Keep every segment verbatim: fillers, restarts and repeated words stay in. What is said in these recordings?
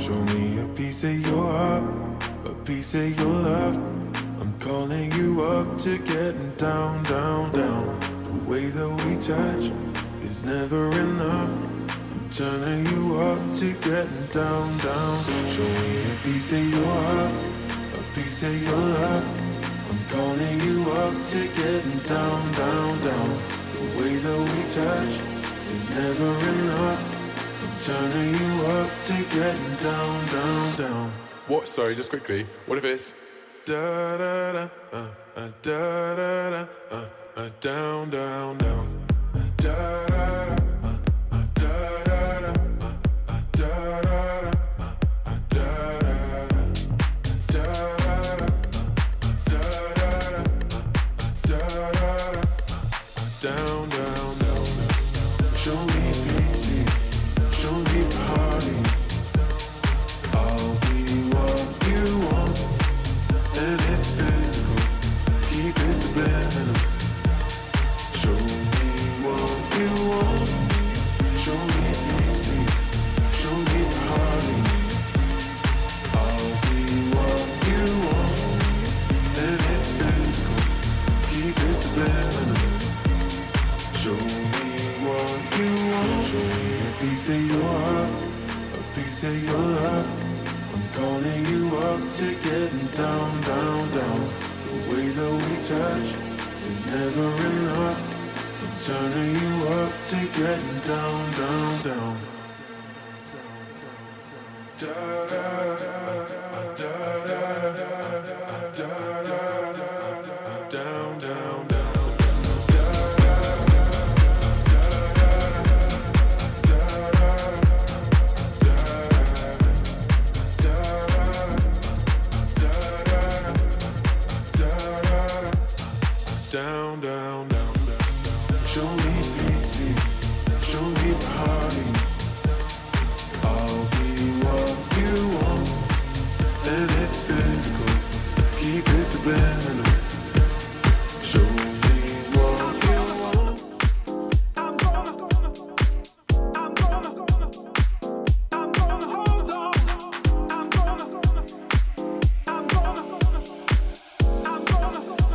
Show me a piece of your heart, a piece of your love. I'm calling you up to getting down, down, down. The way that we touch is never enough. I'm turning you up to getting down, down. Show me a piece of your heart, a piece of your love. I'm calling you up to getting down, down, down. The way that we touch is never enough. I'm turning you up to getting down, down, down. What? Sorry, just quickly. What if it's da da da uh, uh, da da da uh, uh, down, down, down. Uh, da da da uh, uh, da da da uh, uh, da da da uh, uh, da da da da da da da da da da down, down, down. Show me pity, show me party. I'll be what you want, and it's physical. Keep it subliminal. Show me what you want. Show me pity, show me party. I'll be what you want, and it's physical. Keep it subliminal. Show me what you want. Show me a piece of your heart, a piece of your love. I'm calling you up to getting down, down, down. The way that we touch is never enough. I'm turning you up to getting down, down, down. Da da da da da da da da da down, down, down. Down, down, down. Show me pity, show me party. I'll be what you want, and it's physical. Keep it subliminal. Show me what you want. I'm gonna, gonna, I'm gonna, gonna, I'm gonna hold on. I'm gonna, gonna, I'm gonna, gonna, I'm gonna, gonna.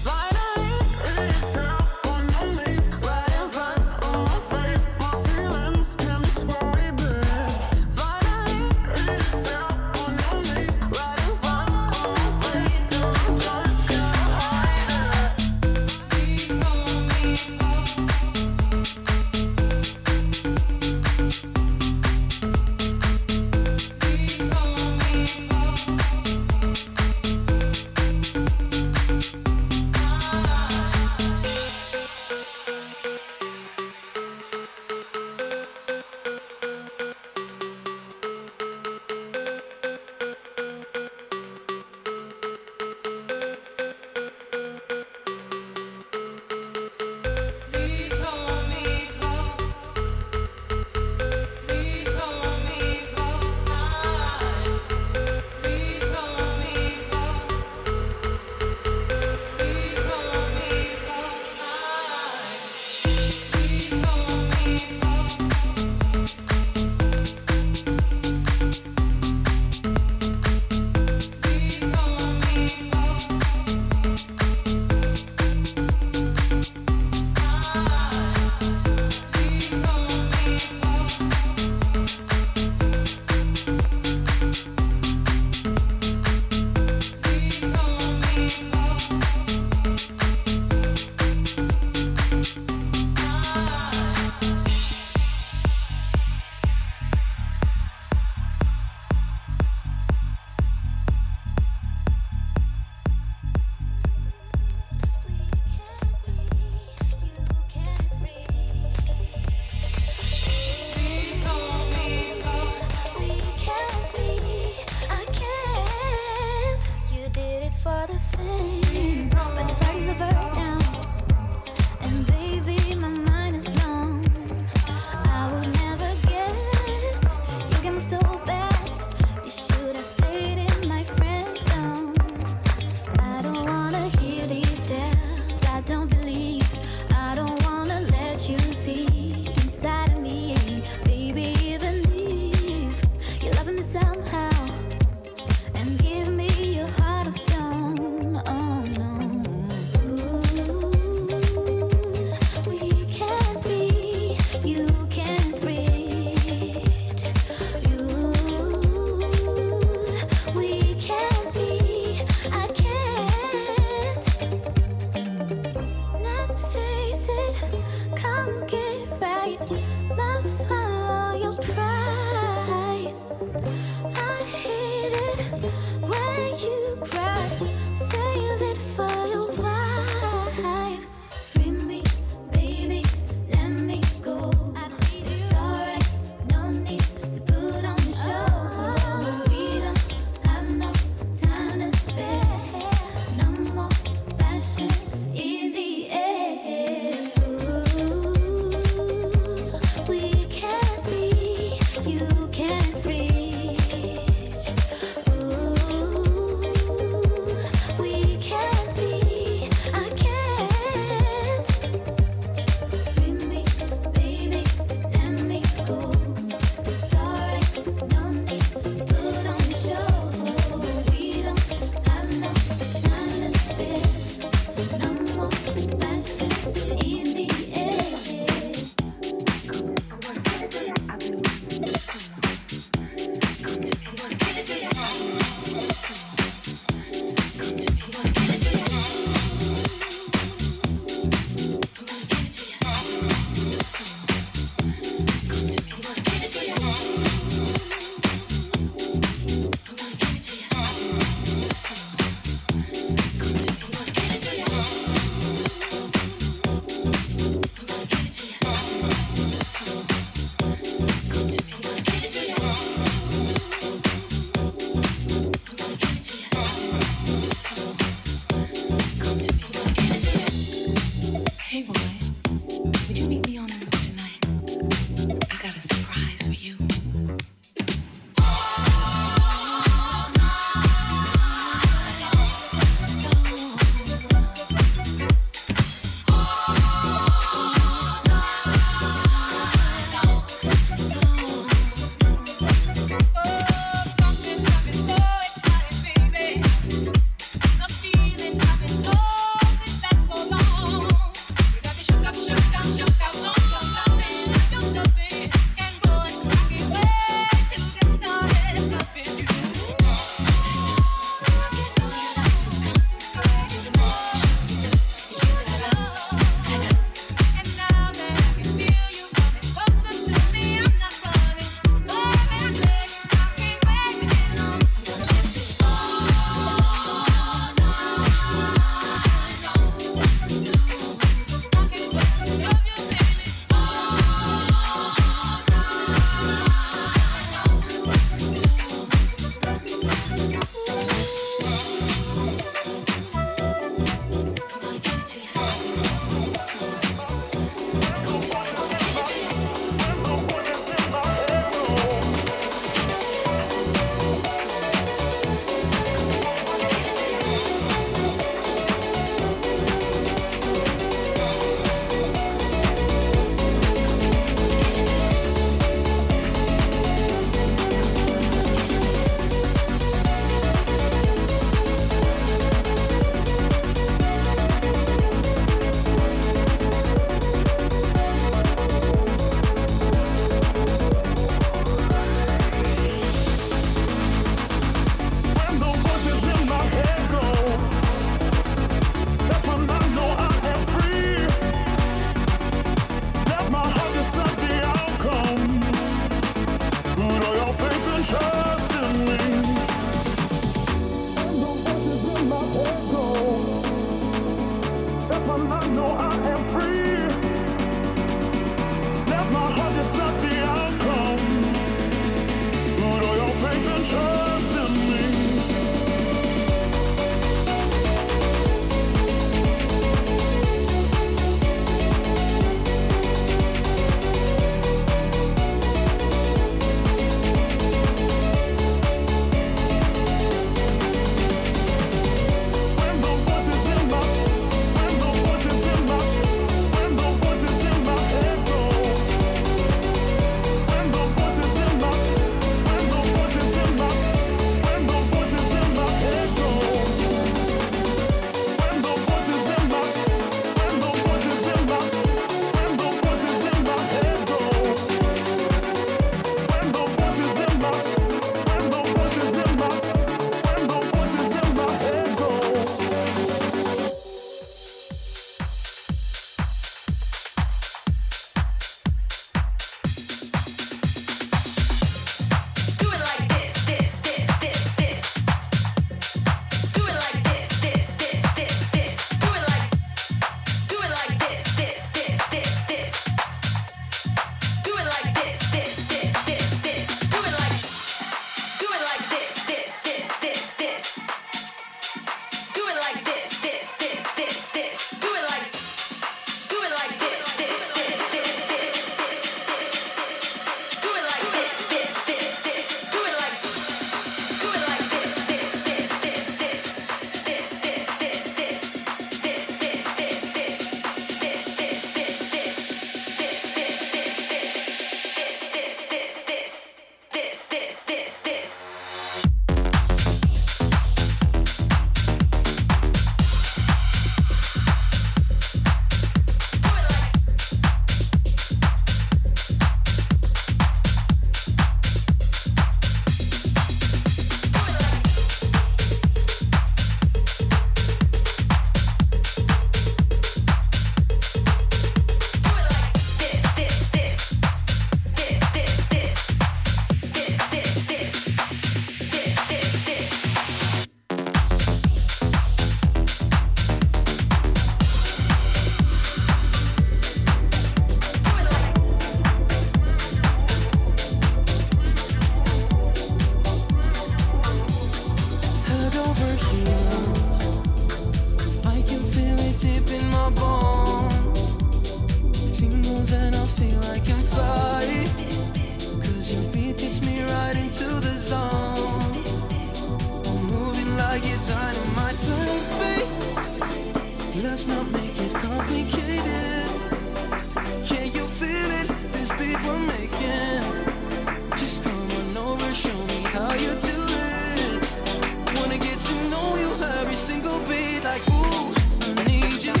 my bones. Tingles and I feel I can fly. Cause your beat gets me right into the zone. I'm moving like it's dynamite, baby. Let's not make it complicated. Can you feel it? This beat we're making. Just come on over, show me how you do it. Wanna get to know you every single beat. Like, ooh, I need you.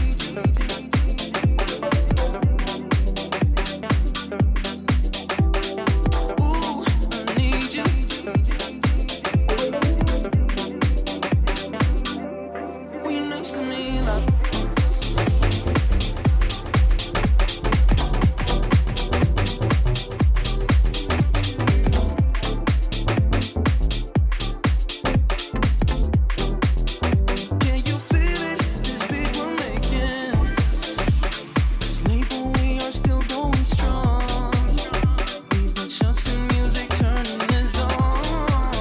Ooh, I need you. When you're next to me, like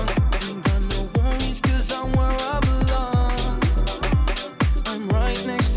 next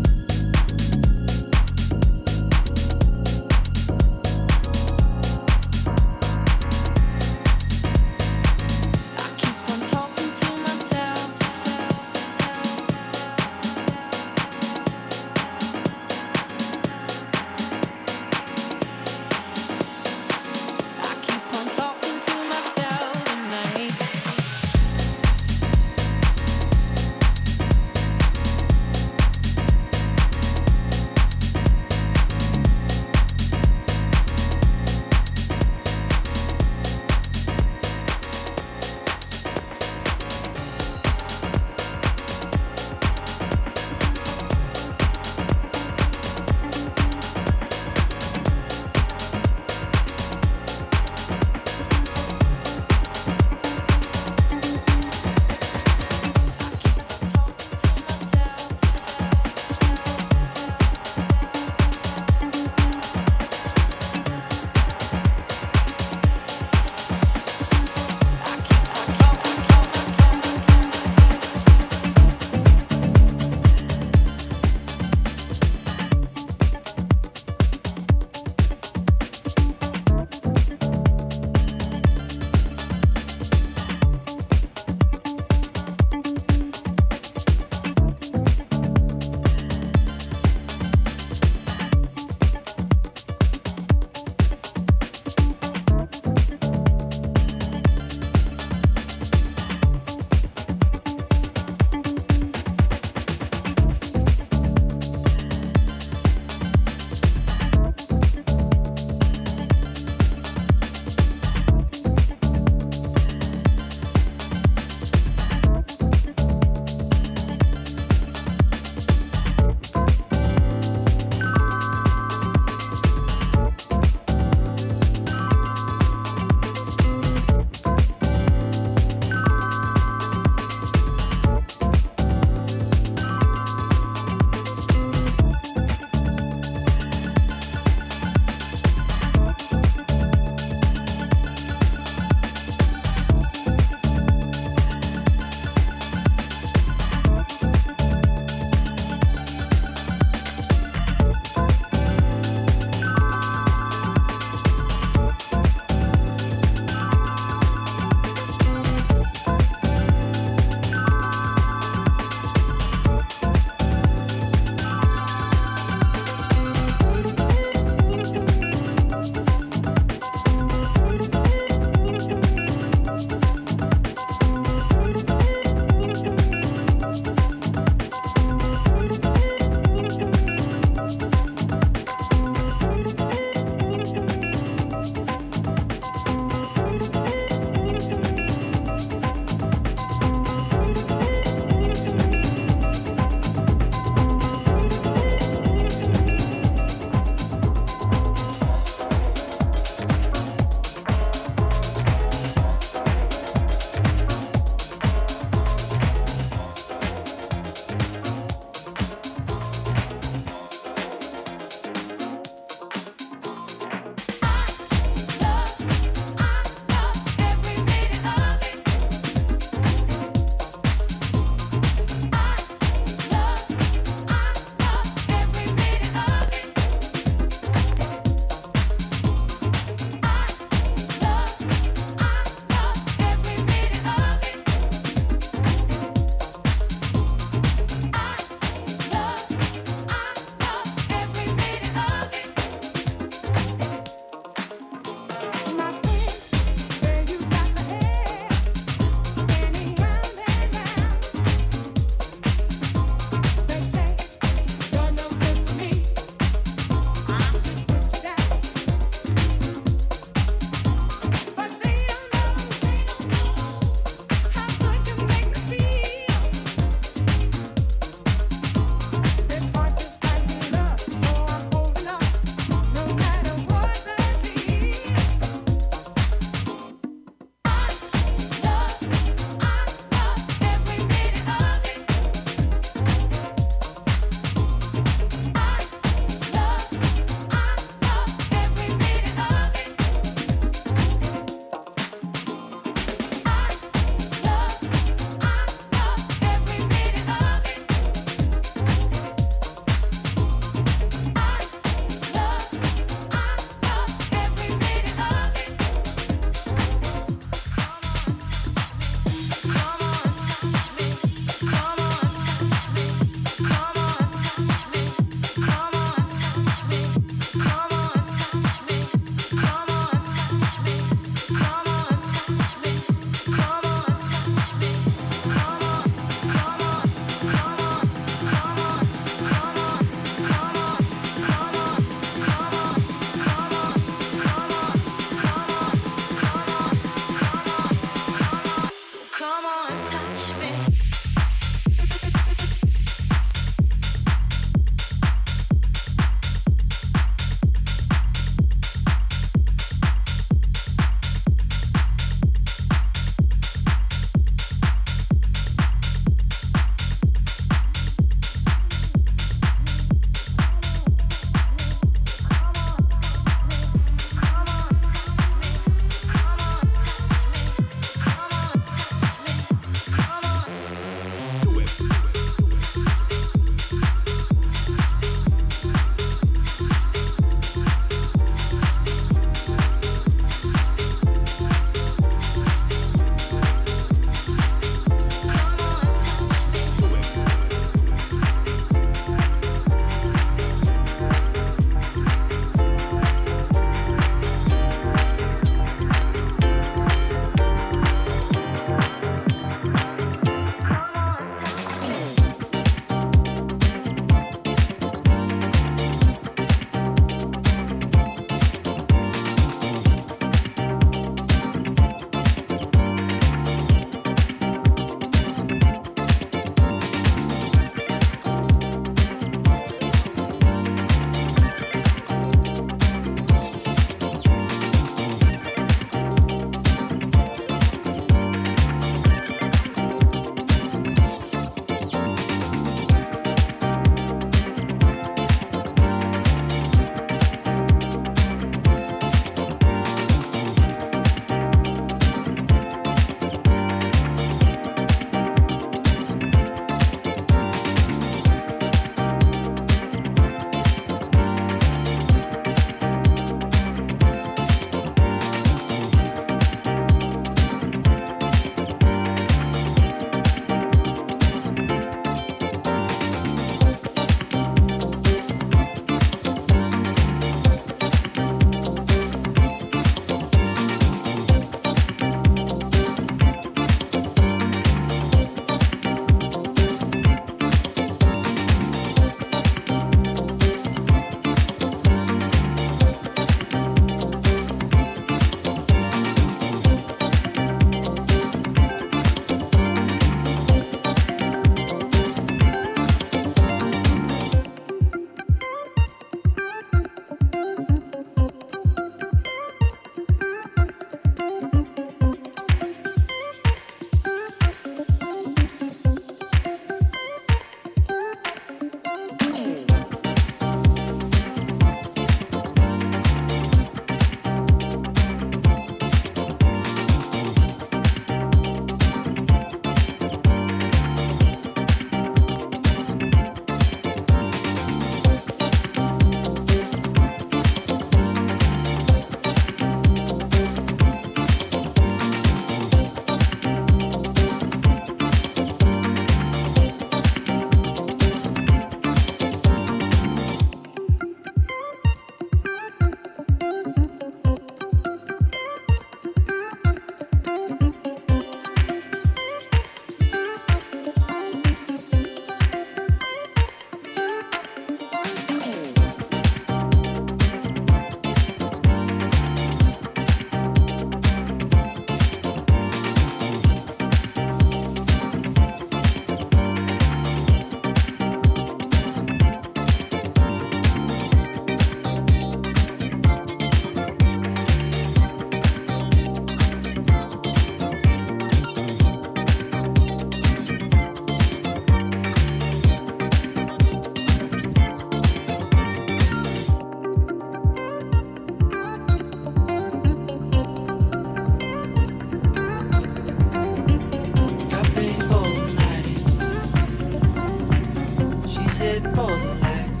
heading for the light,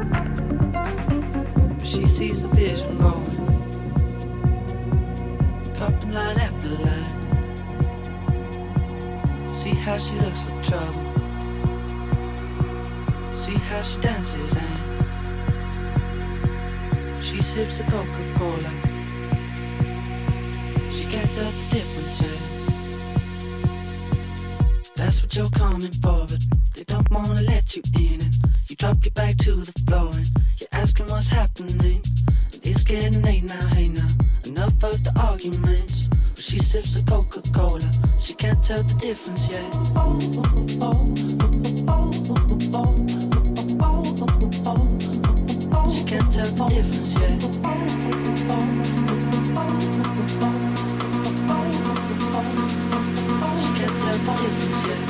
but she sees the vision going, cupping line after line. See how she looks like trouble, see how she dances and she sips the Coca-Cola. She can't tell the difference, eh? That's what you're coming for, but they don't wanna let you in. And you drop your back to the floor and you're asking what's happening. And it's getting late now, hey now, enough of the arguments. But she sips the Coca-Cola, she can't tell the difference yet. She can't tell the difference yet. She can't tell the difference yet.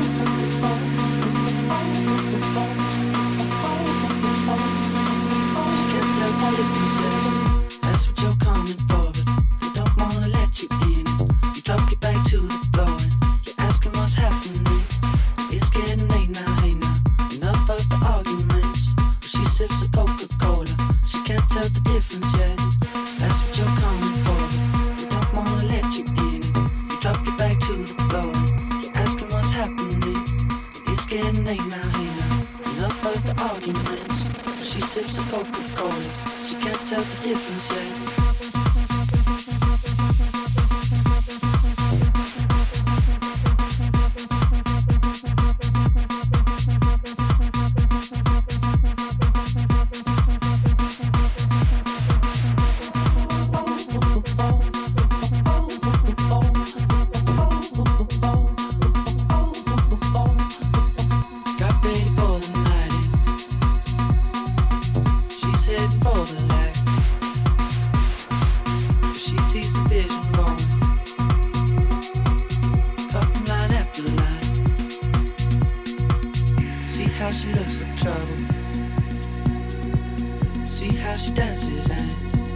She can't tell the difference yet. That's what you're coming for, but they don't wanna let you in. You drop your back to the floor and you're asking what's happening. It's getting late now, hey now, enough of the arguments. But she sips the Coca-Cola, she can't tell the difference yet. That's what you're coming for, but they don't wanna let you in. You drop your back to the floor and you're asking what's happening. It's getting late now, hey now, enough of the arguments. But she sips the Coca-Cola, she can't tell the difference yet. Got ready for the night, she's heading for the light. She sees the vision going, cutting line after line. See how she looks like trouble, see how she dances and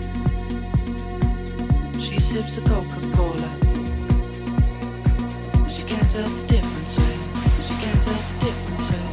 she sips the Coca-Cola. She can't tell the difference, eh? She can't tell the difference, eh?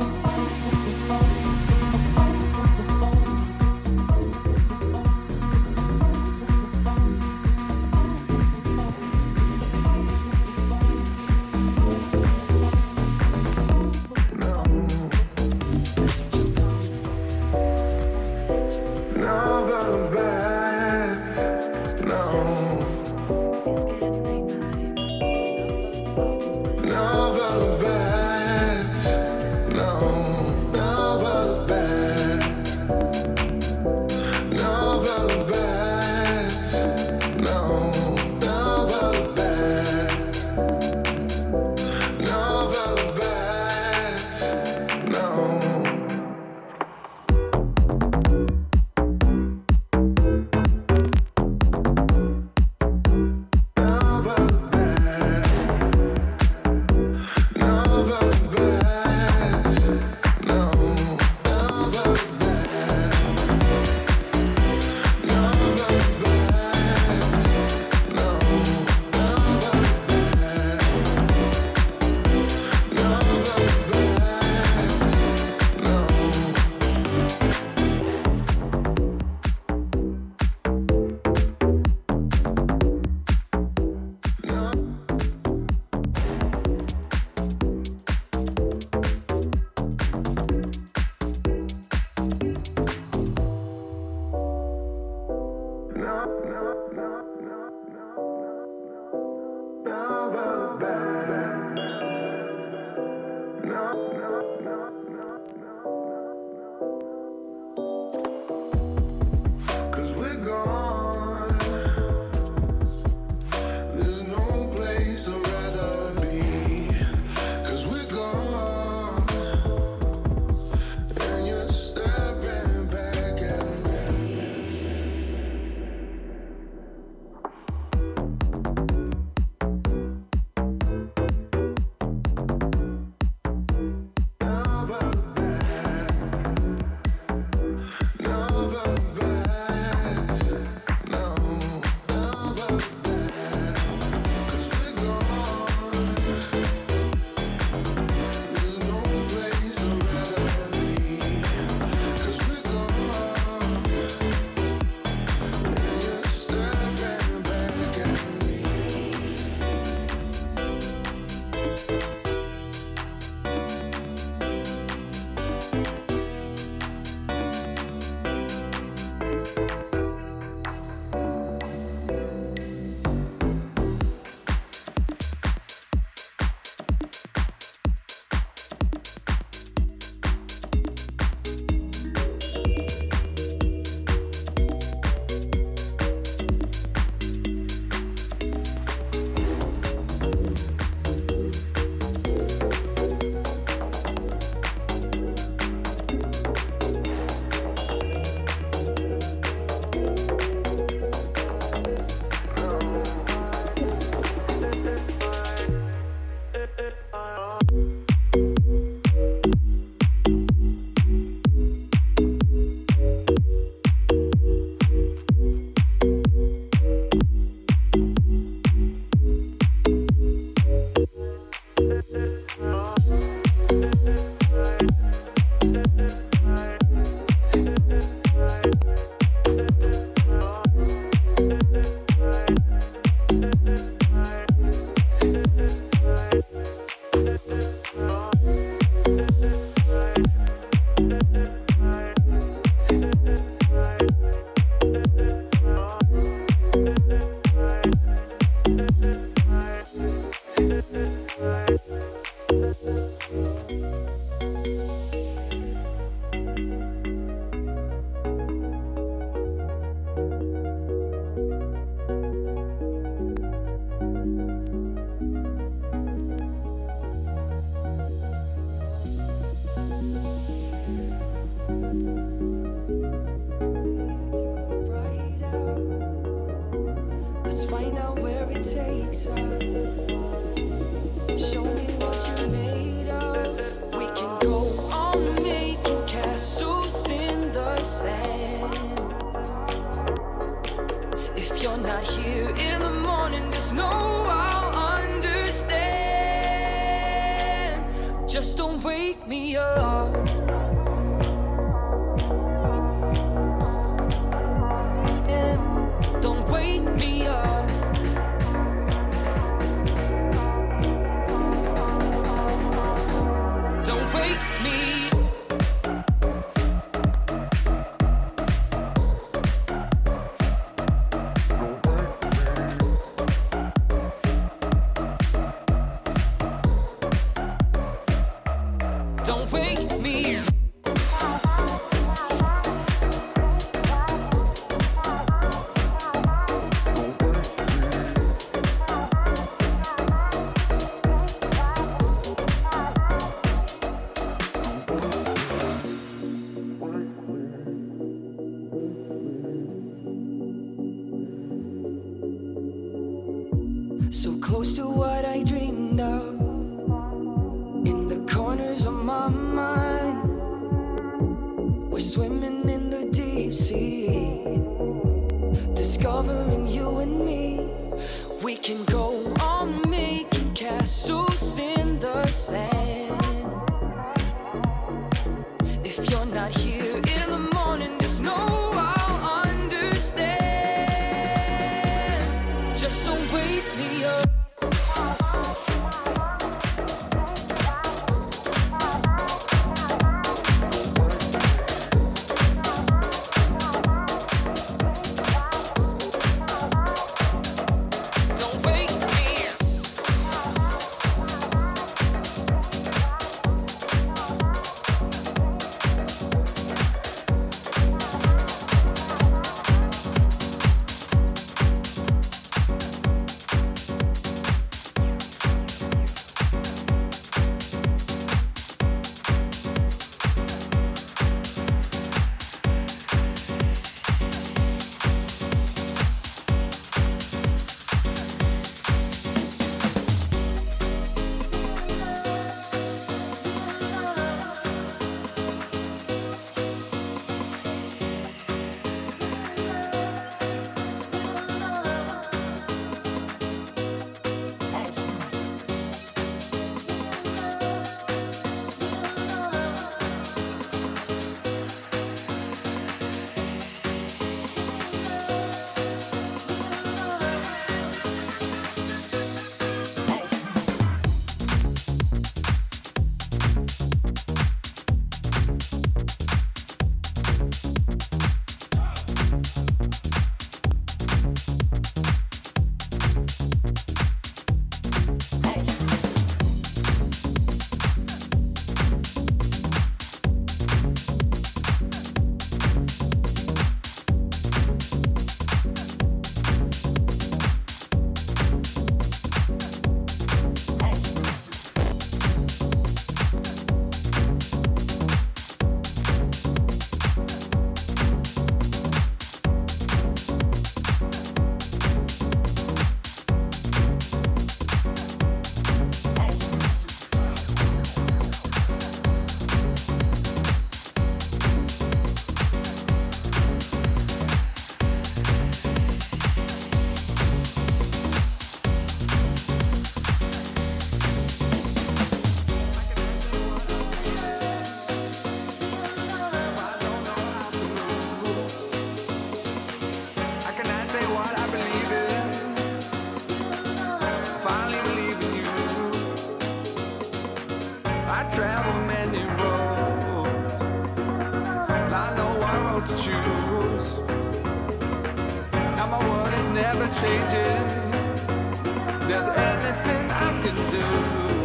changing. There's anything I can do.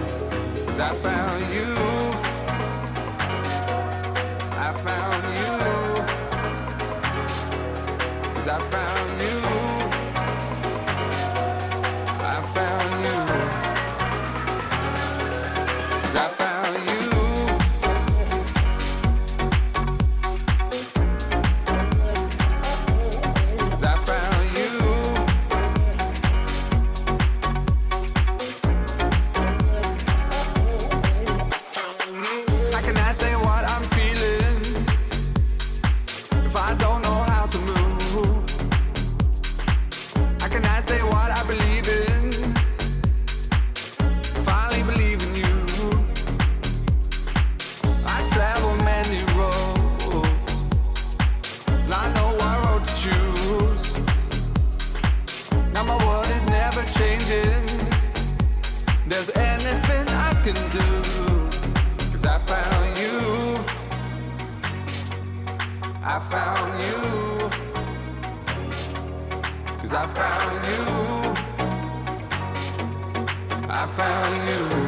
'cause I found you. I found you. 'Cause I found you. I found you. 'Cause I found you. I found you. 'Cause I found you. I found you.